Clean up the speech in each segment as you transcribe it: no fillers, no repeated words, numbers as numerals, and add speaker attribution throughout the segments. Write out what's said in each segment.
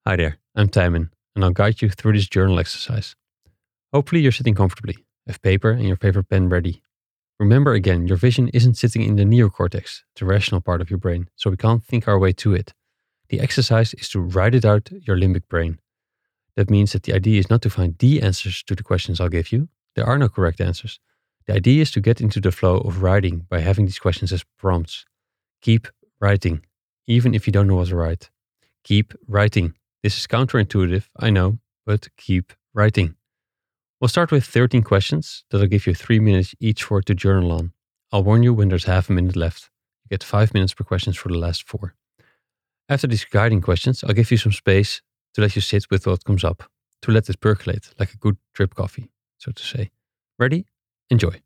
Speaker 1: Hi there, I'm Timon, and I'll guide you through this journal exercise. Hopefully, you're sitting comfortably, have paper and your favorite pen ready. Remember again, your vision isn't sitting in the neocortex, the rational part of your brain, so we can't think our way to it. The exercise is to write it out your limbic brain. That means that the idea is not to find the answers to the questions I'll give you. There are no correct answers. The idea is to get into the flow of writing by having these questions as prompts. Keep writing, even if you don't know what to write. Keep writing. This is counterintuitive, I know, but keep writing. We'll start with 13 questions that I'll give you 3 minutes each for to journal on. I'll warn you when there's half a minute left. You get 5 minutes per question for the last 4. After these guiding questions, I'll give you some space to let you sit with what comes up, to let it percolate like a good drip coffee, so to say. Ready? Enjoy.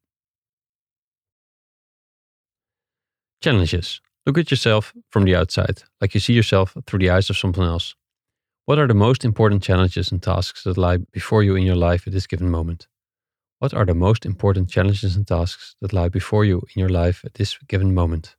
Speaker 1: Challenges. Look at yourself from the outside, like you see yourself through the eyes of someone else. What are the most important challenges and tasks that lie before you in your life at this given moment? What are the most important challenges and tasks that lie before you in your life at this given moment?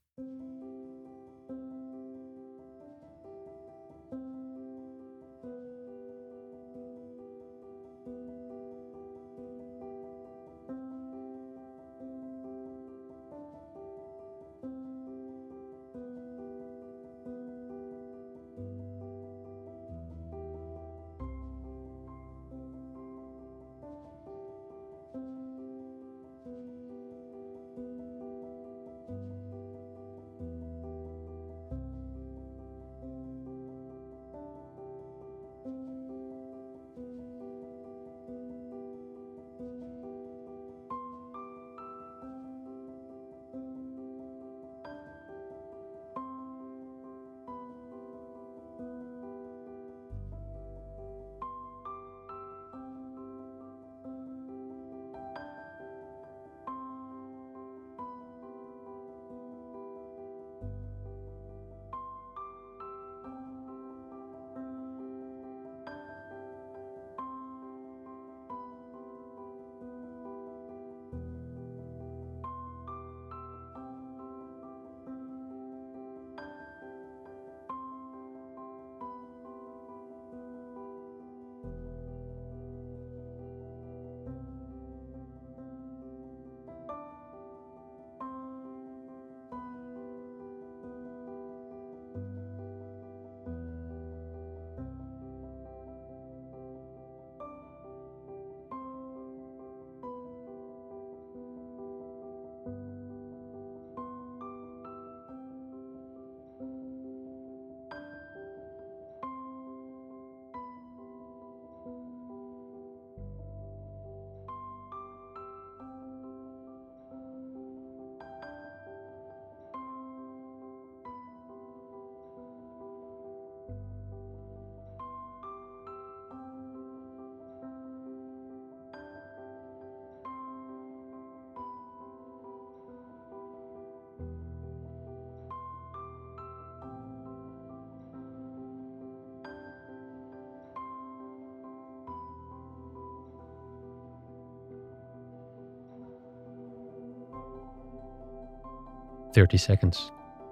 Speaker 1: "30 seconds.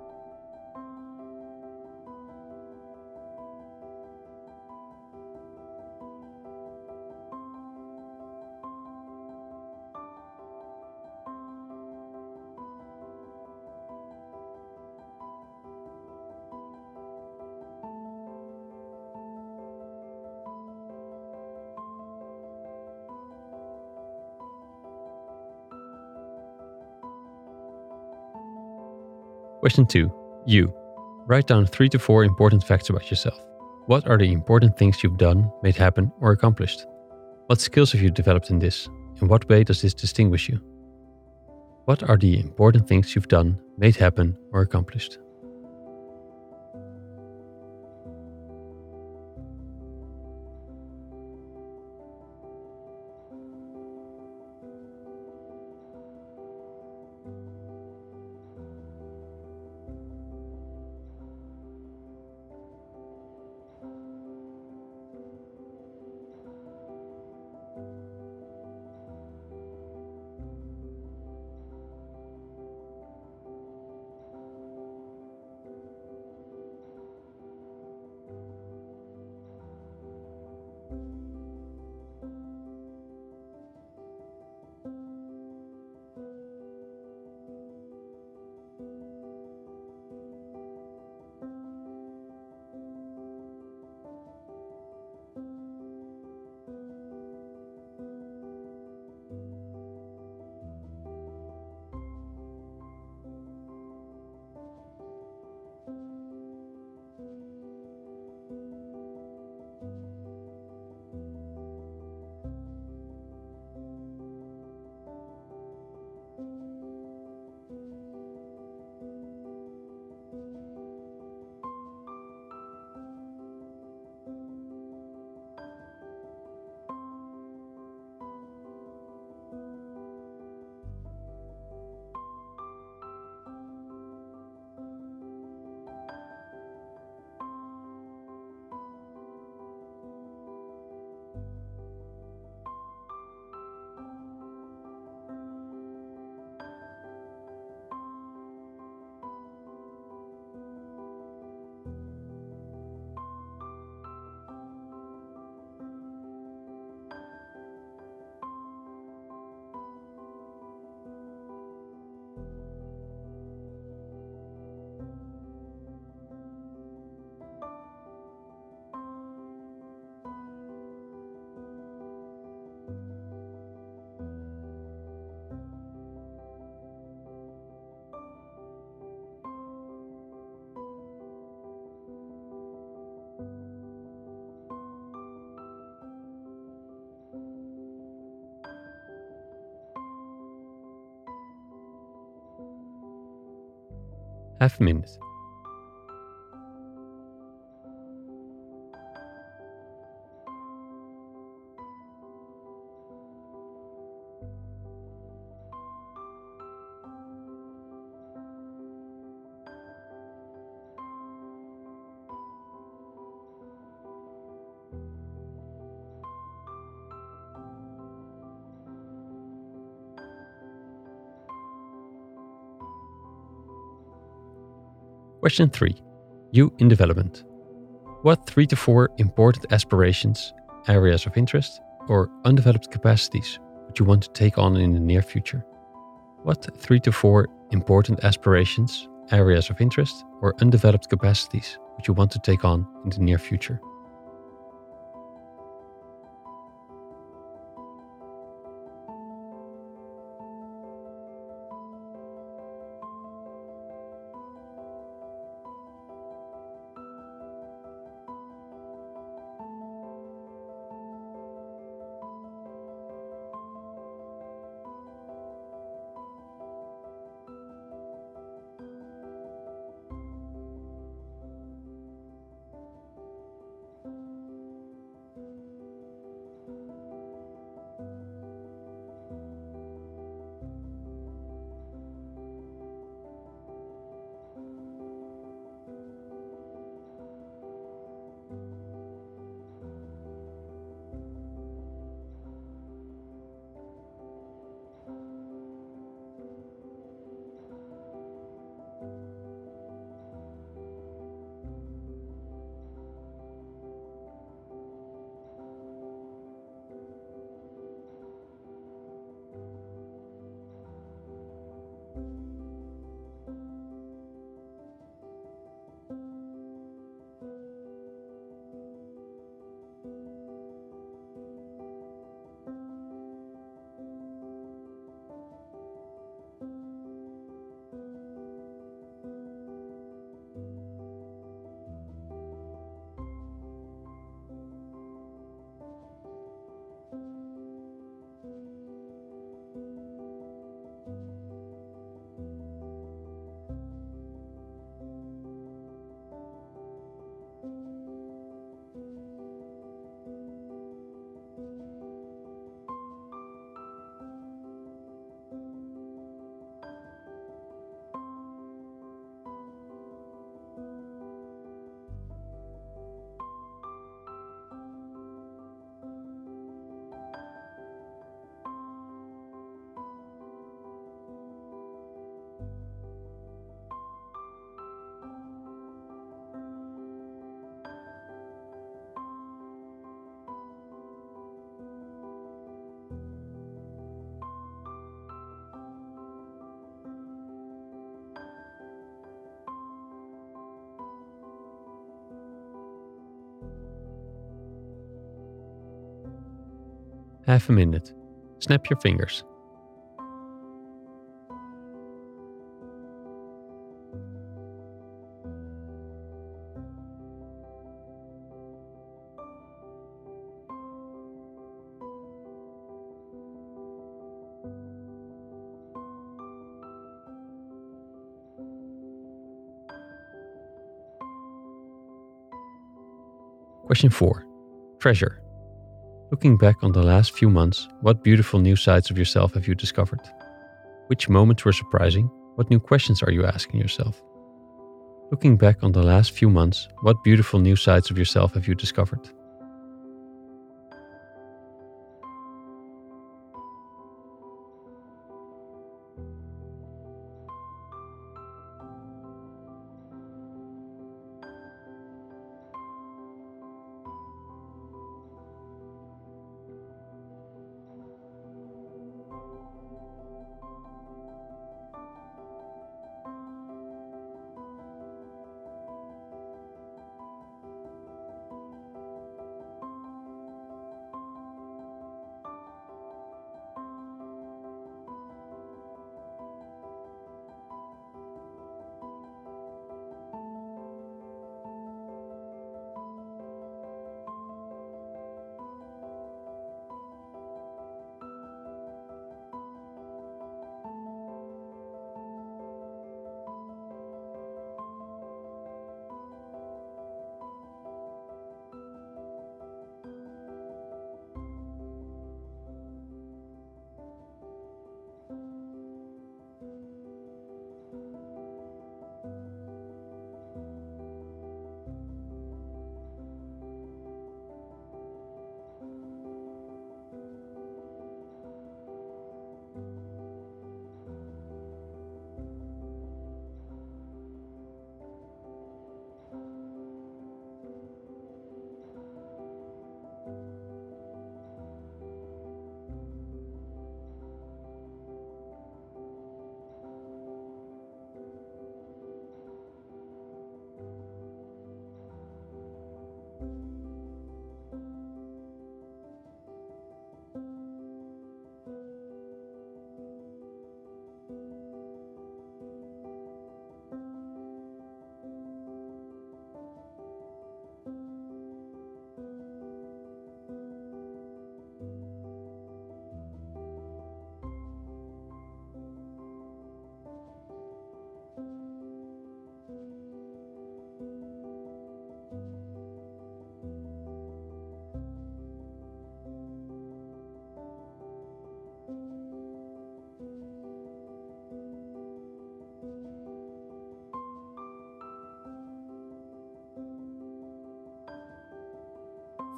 Speaker 1: Question 2. You. Write down 3 to 4 important facts about yourself. What are the important things you've done, made happen, or accomplished? What skills have you developed in this? In what way does this distinguish you? What are the important things you've done, made happen, or accomplished? Half a minute. Question 3. You in development. What 3 to 4 important aspirations, areas of interest, or undeveloped capacities would you want to take on in the near future? What 3 to 4 important aspirations, areas of interest, or undeveloped capacities would you want to take on in the near future? Half a minute. Snap your fingers. Question 4. Treasure. Looking back on the last few months, what beautiful new sides of yourself have you discovered? Which moments were surprising? What new questions are you asking yourself? Looking back on the last few months, what beautiful new sides of yourself have you discovered?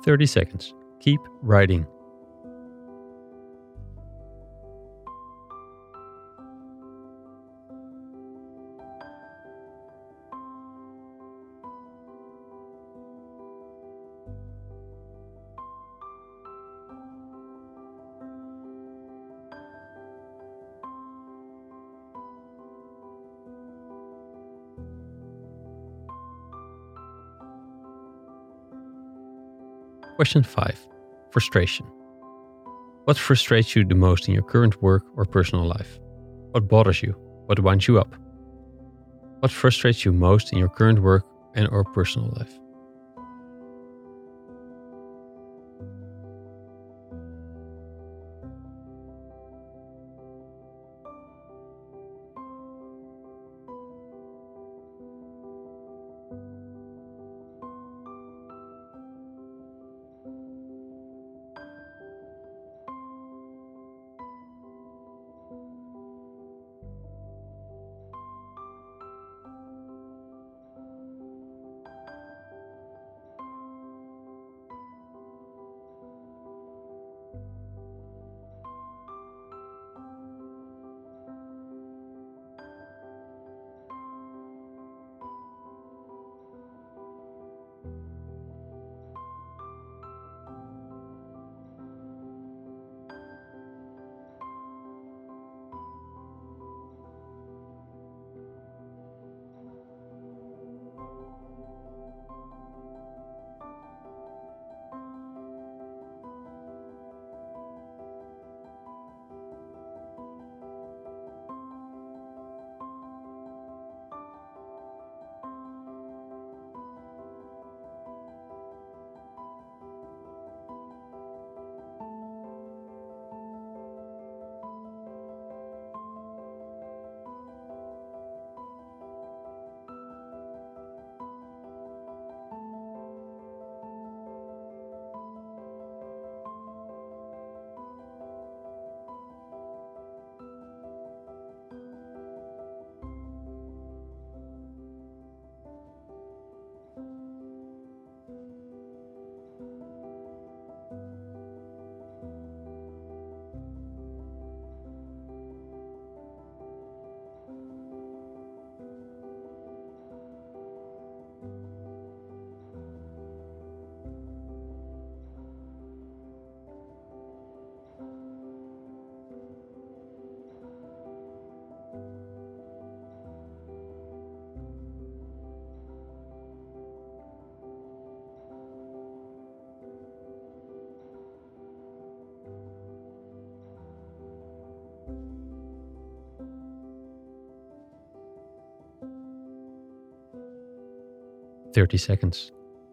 Speaker 1: 30 seconds. Keep writing. Question 5. Frustration. What frustrates you the most in your current work or personal life? What bothers you? What winds you up? What frustrates you most in your current work and or personal life? "30 seconds.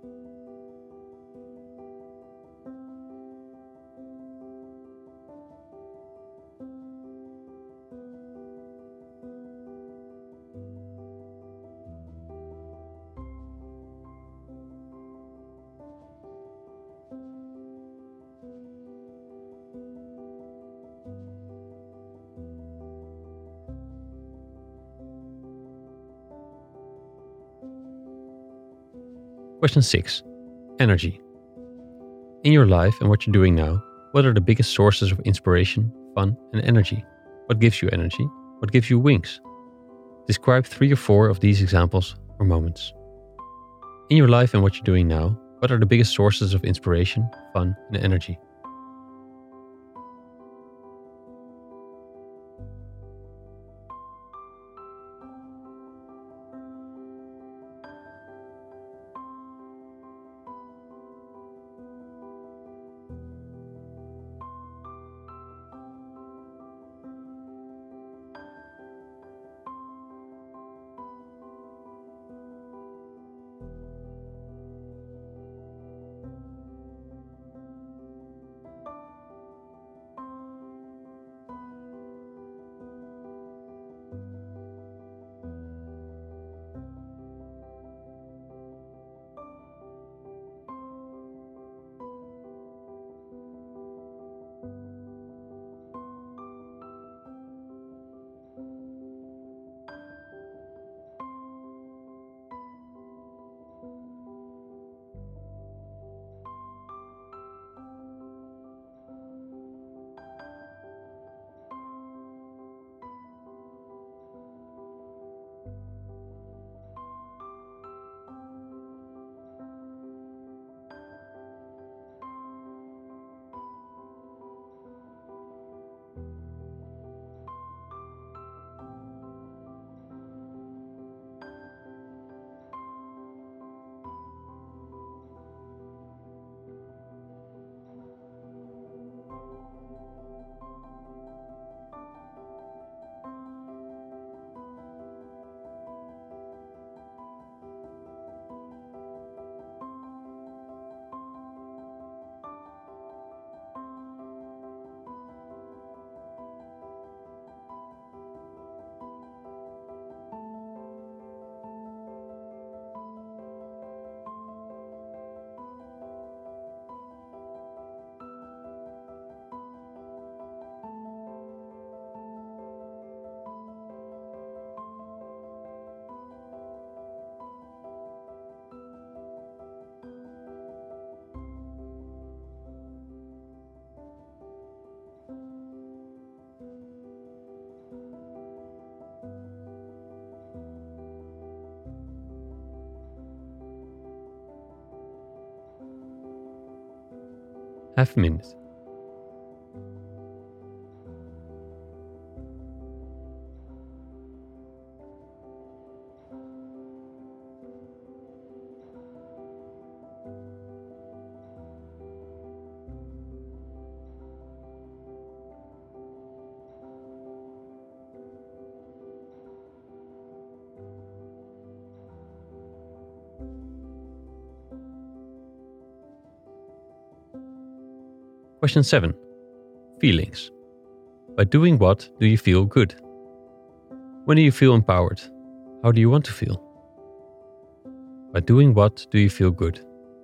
Speaker 1: Question 6. Energy. In your life and what you're doing now, what are the biggest sources of inspiration, fun, and energy? What gives you energy? What gives you wings? Describe 3 or 4 of these examples or moments. In your life and what you're doing now, what are the biggest sources of inspiration, fun, and energy? Half a minute. Question 7. Feelings. By doing what do you feel good? When do you feel empowered? How do you want to feel? By doing what do you feel good?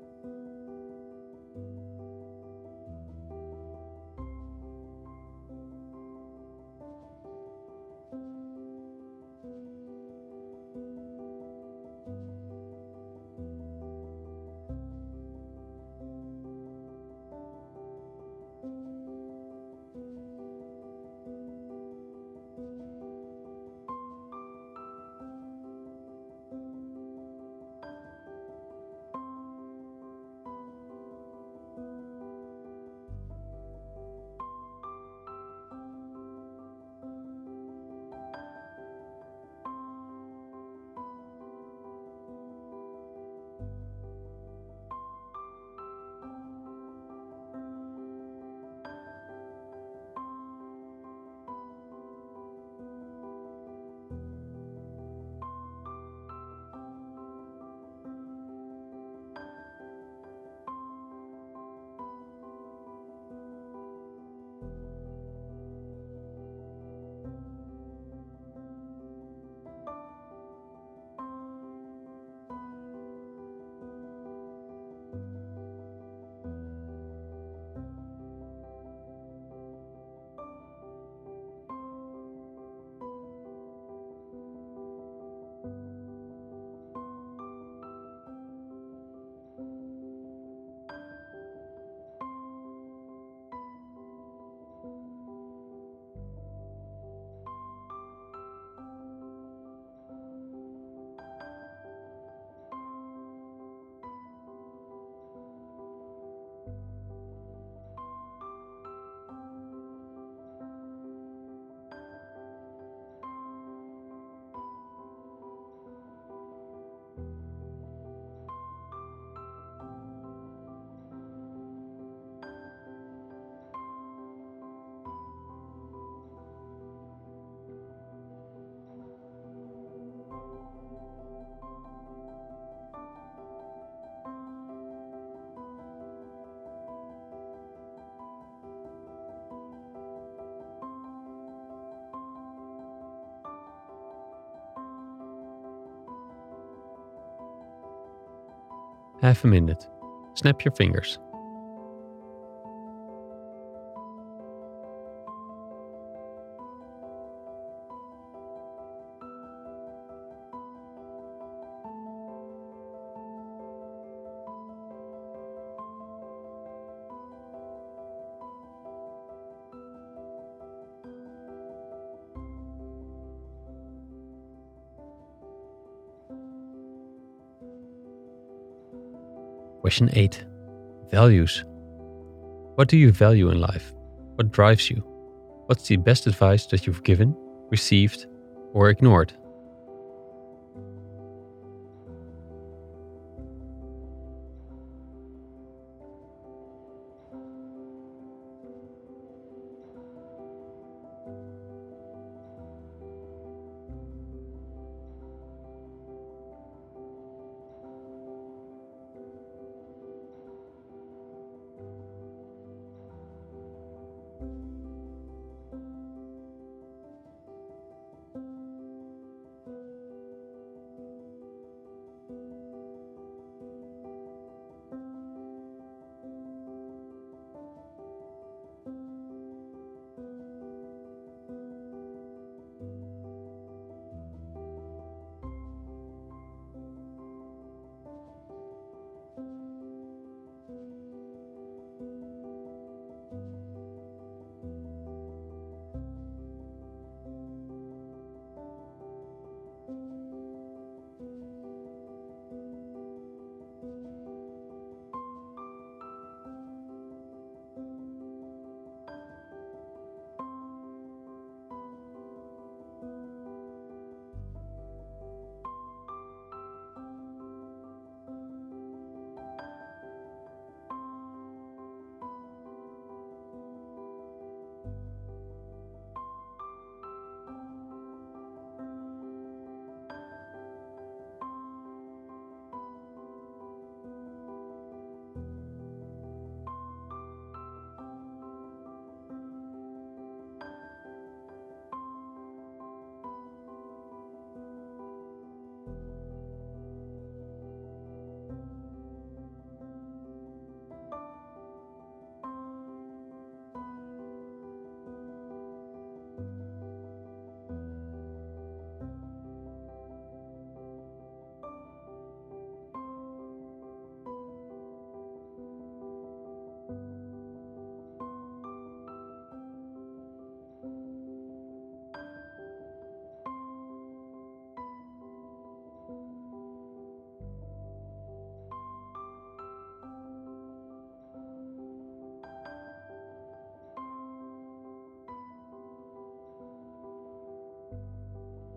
Speaker 1: Half a minute. Snap your fingers. Question 8. Values. What do you value in life? What drives you? What's the best advice that you've given, received, or ignored?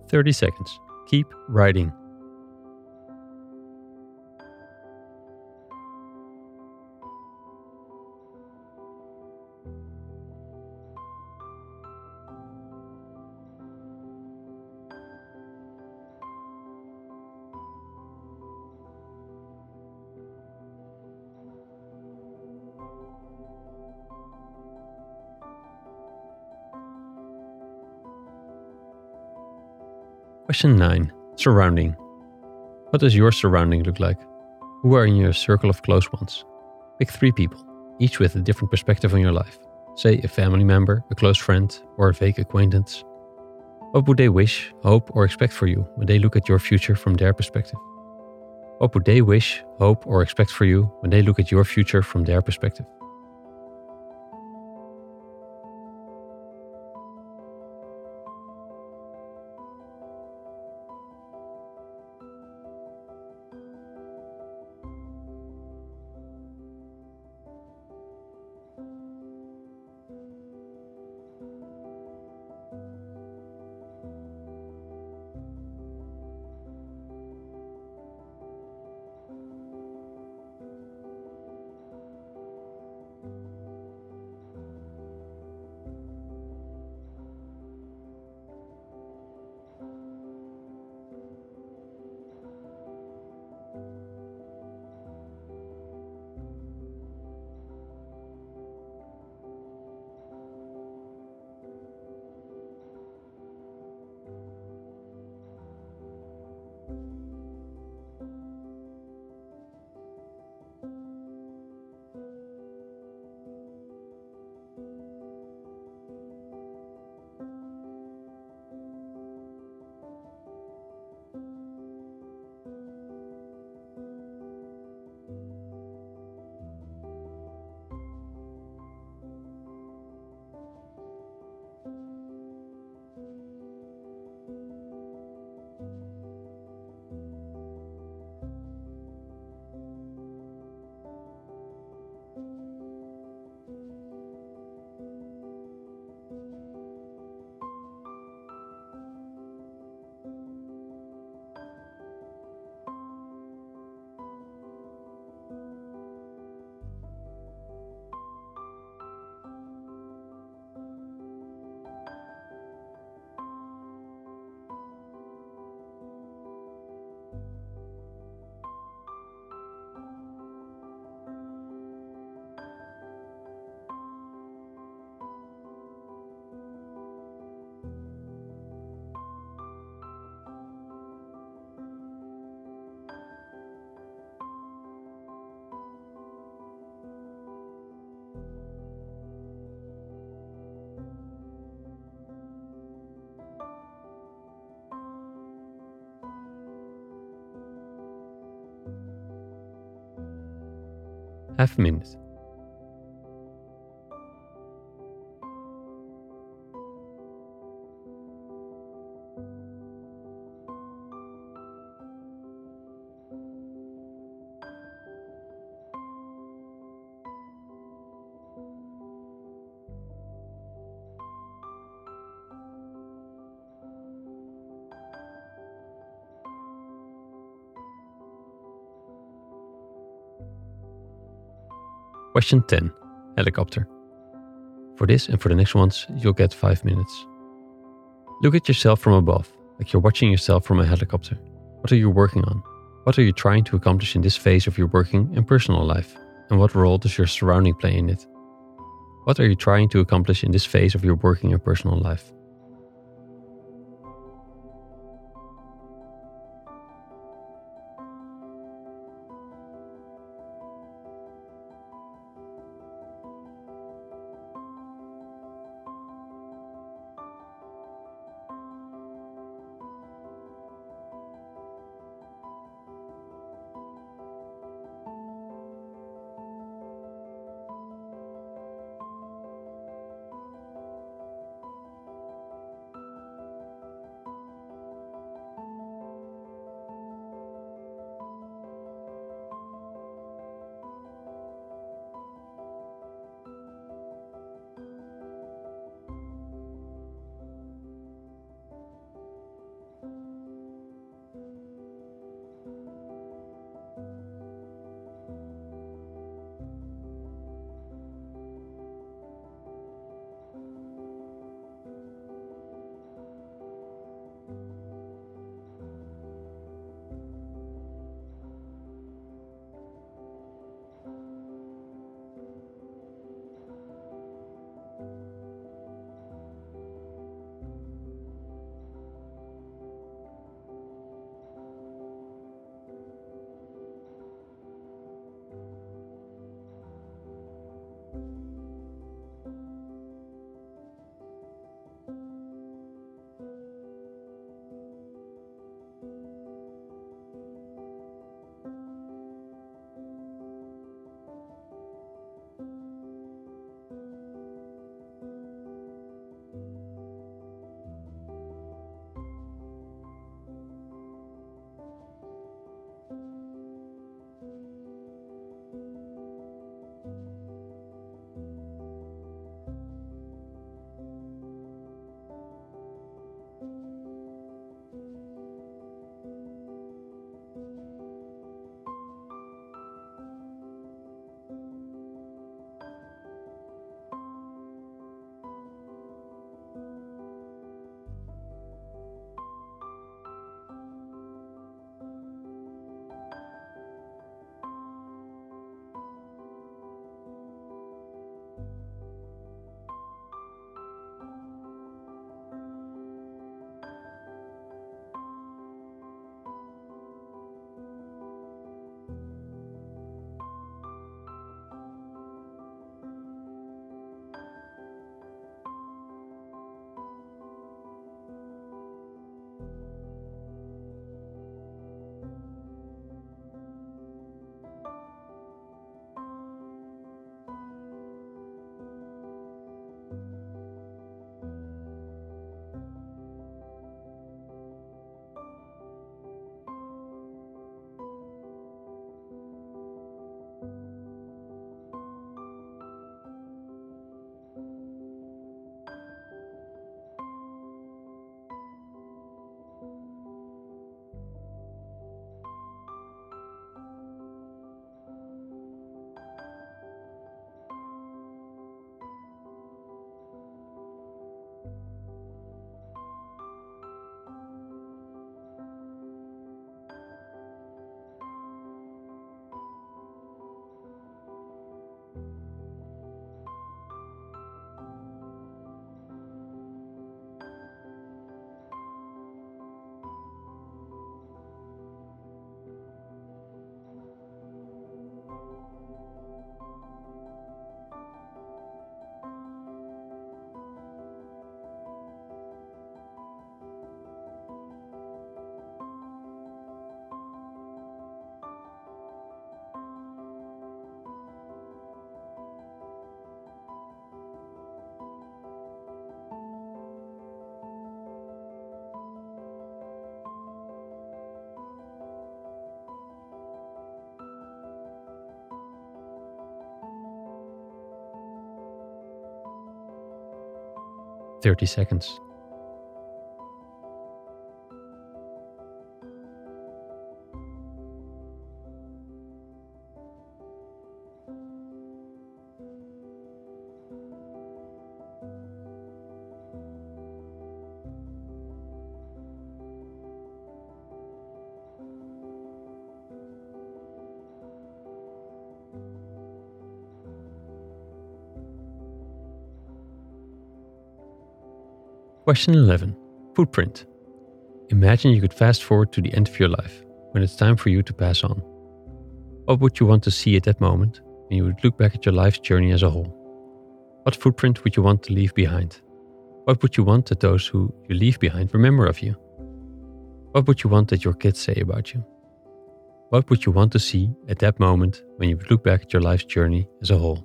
Speaker 1: 30 seconds. Keep writing. Question 9. Surrounding. What does your surrounding look like? Who are in your circle of close ones? Pick 3 people, each with a different perspective on your life. Say a family member, a close friend, or a vague acquaintance. What would they wish, hope, or expect for you when they look at your future from their perspective? What would they wish, hope, or expect for you when they look at your future from their perspective? Half a minute. Question 10. Helicopter. For this and for the next ones, you'll get 5 minutes. Look at yourself from above, like you're watching yourself from a helicopter. What are you working on? What are you trying to accomplish in this phase of your working and personal life? And what role does your surrounding play in it? What are you trying to accomplish in this phase of your working and personal life? 30 seconds. Question 11. Footprint. Imagine you could fast forward to the end of your life, when it's time for you to pass on. What would you want to see at that moment when you would look back at your life's journey as a whole? What footprint would you want to leave behind? What would you want that those who you leave behind remember of you? What would you want that your kids say about you? What would you want to see at that moment when you would look back at your life's journey as a whole?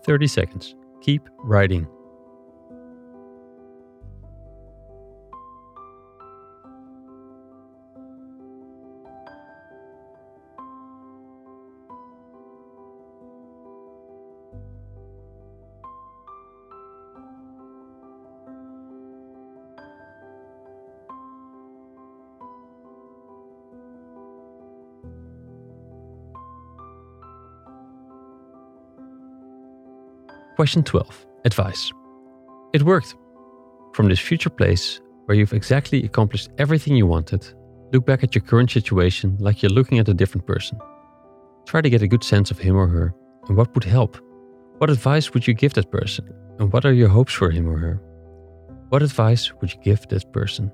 Speaker 1: 30 seconds. Keep writing. Question 12. Advice. It worked. From this future place, where you've exactly accomplished everything you wanted, look back at your current situation like you're looking at a different person. Try to get a good sense of him or her, and what would help. What advice would you give that person, and what are your hopes for him or her? What advice would you give that person?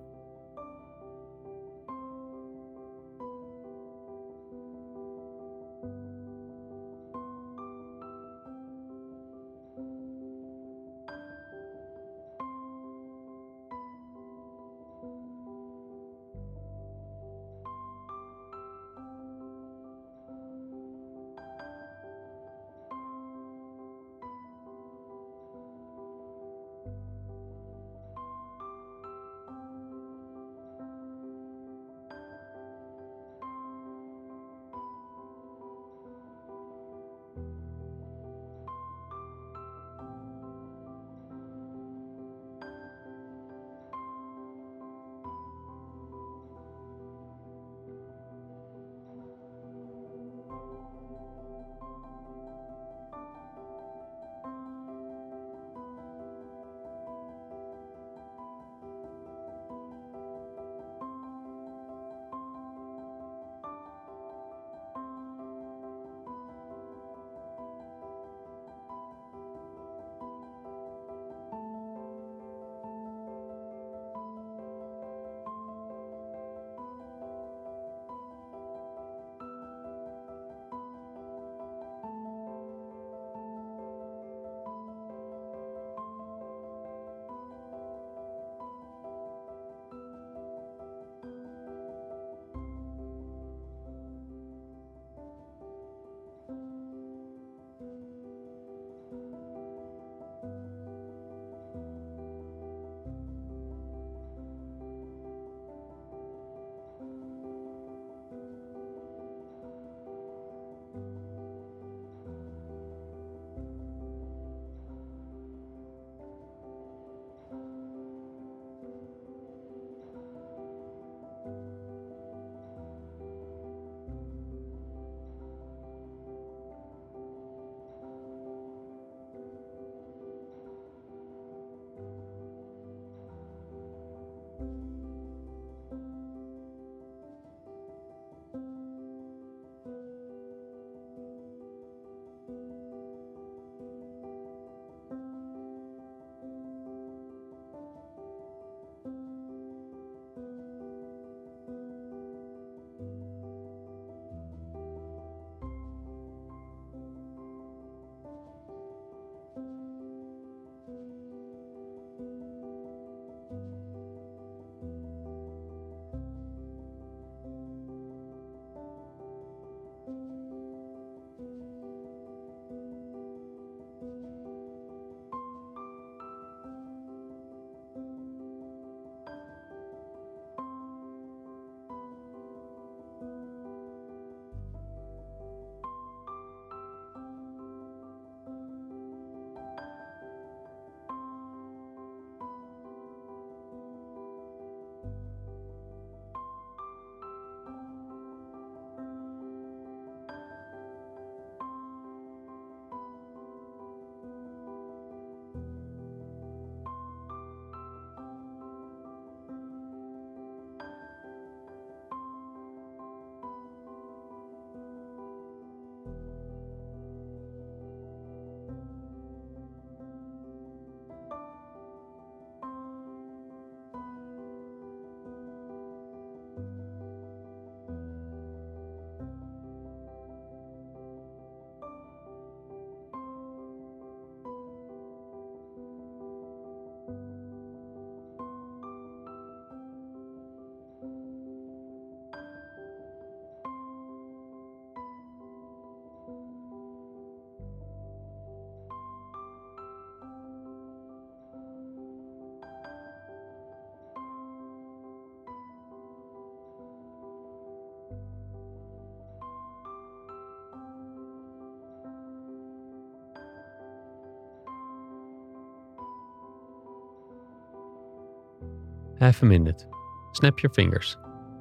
Speaker 1: Half a minute. Snap your fingers.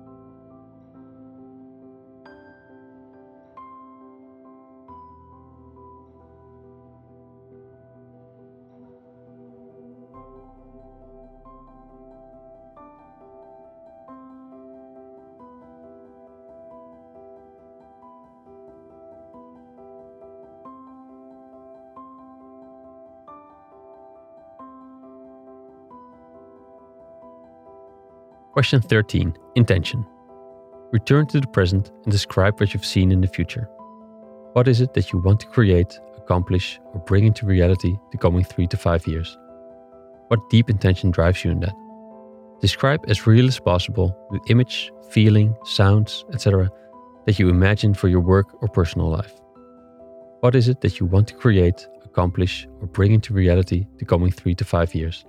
Speaker 1: Question 13. Intention. Return to the present and describe what you've seen in the future. What is it that you want to create, accomplish, or bring into reality the coming 3 to 5 years? What deep intention drives you in that? Describe as real as possible the image, feeling, sounds, etc. that you imagine for your work or personal life. What is it that you want to create, accomplish, or bring into reality the coming 3 to 5 years?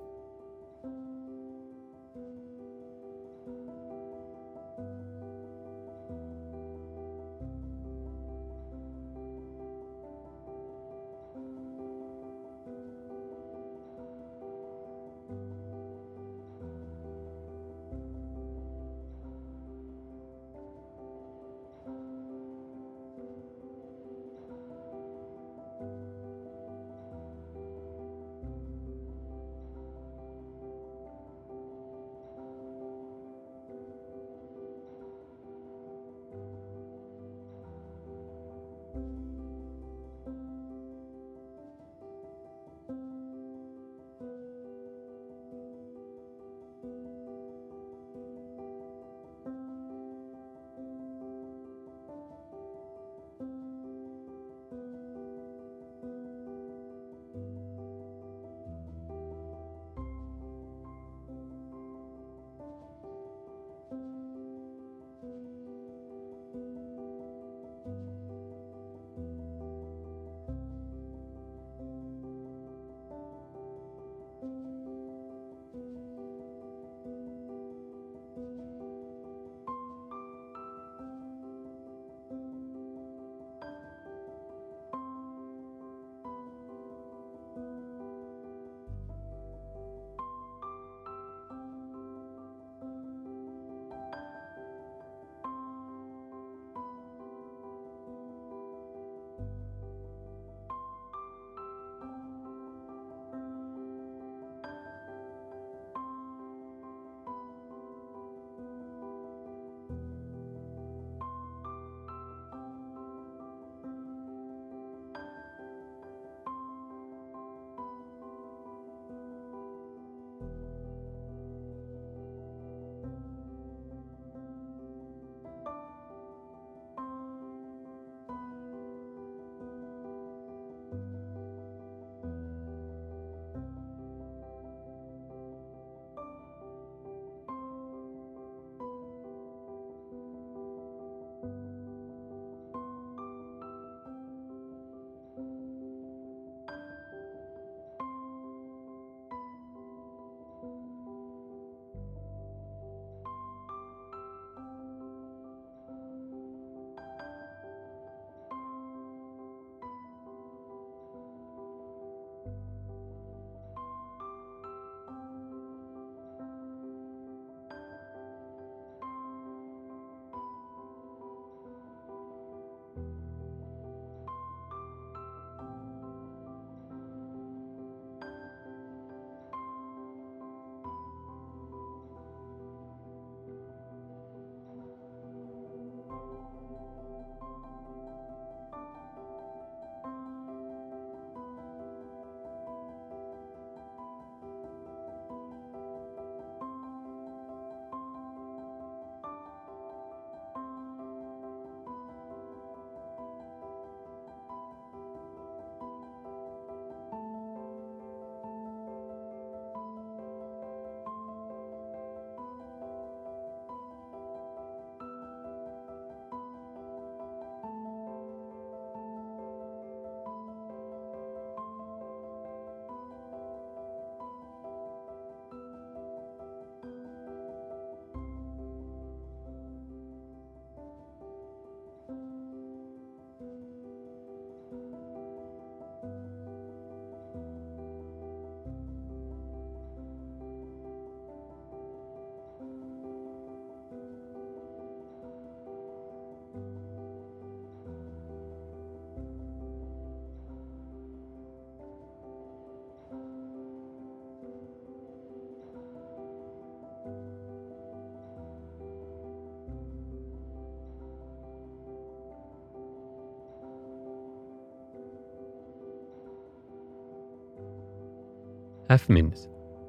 Speaker 1: Half a minute.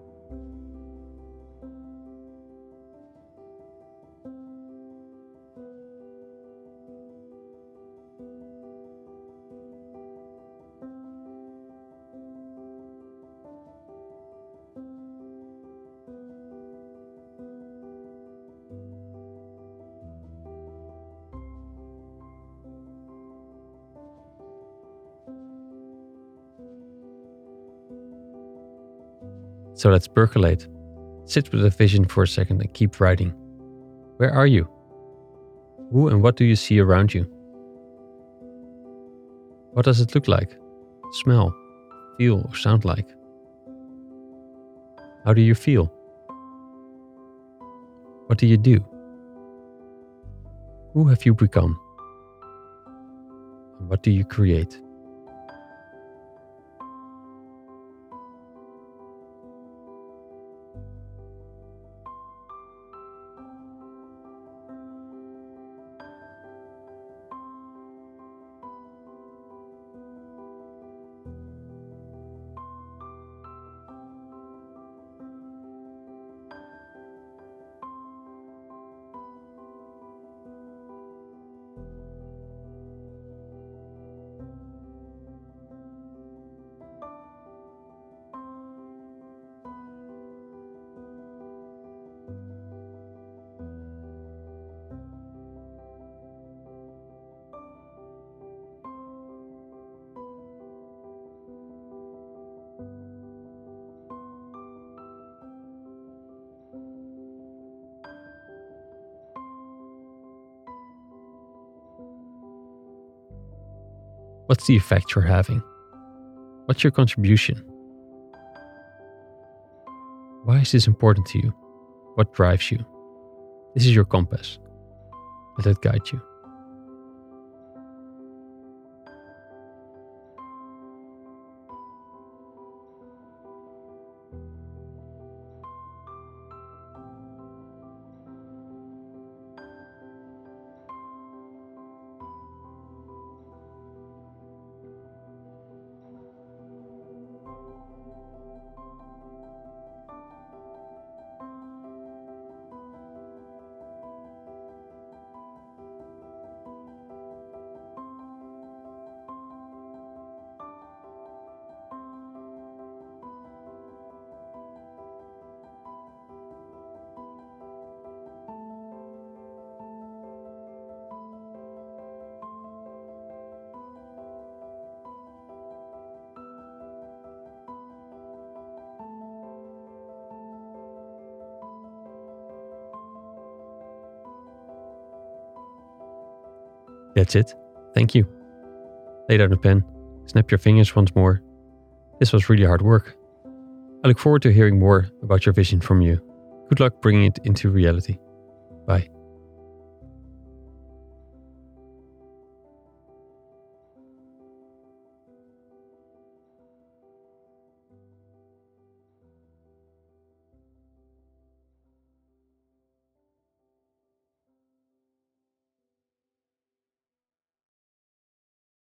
Speaker 1: So let's percolate. Sit with a vision for a second and keep writing. Where are you? Who and what do you see around you? What does it look like, smell, feel, or sound like? How do you feel? What do you do? Who have you become? And what do you create? What's the effect you're having? What's your contribution? Why is this important to you? What drives you? This is your compass. Let it guide you. That's it. Thank you. Lay down the pen, snap your fingers once more. This was really hard work. I look forward to hearing more about your vision from you. Good luck bringing it into reality. Bye.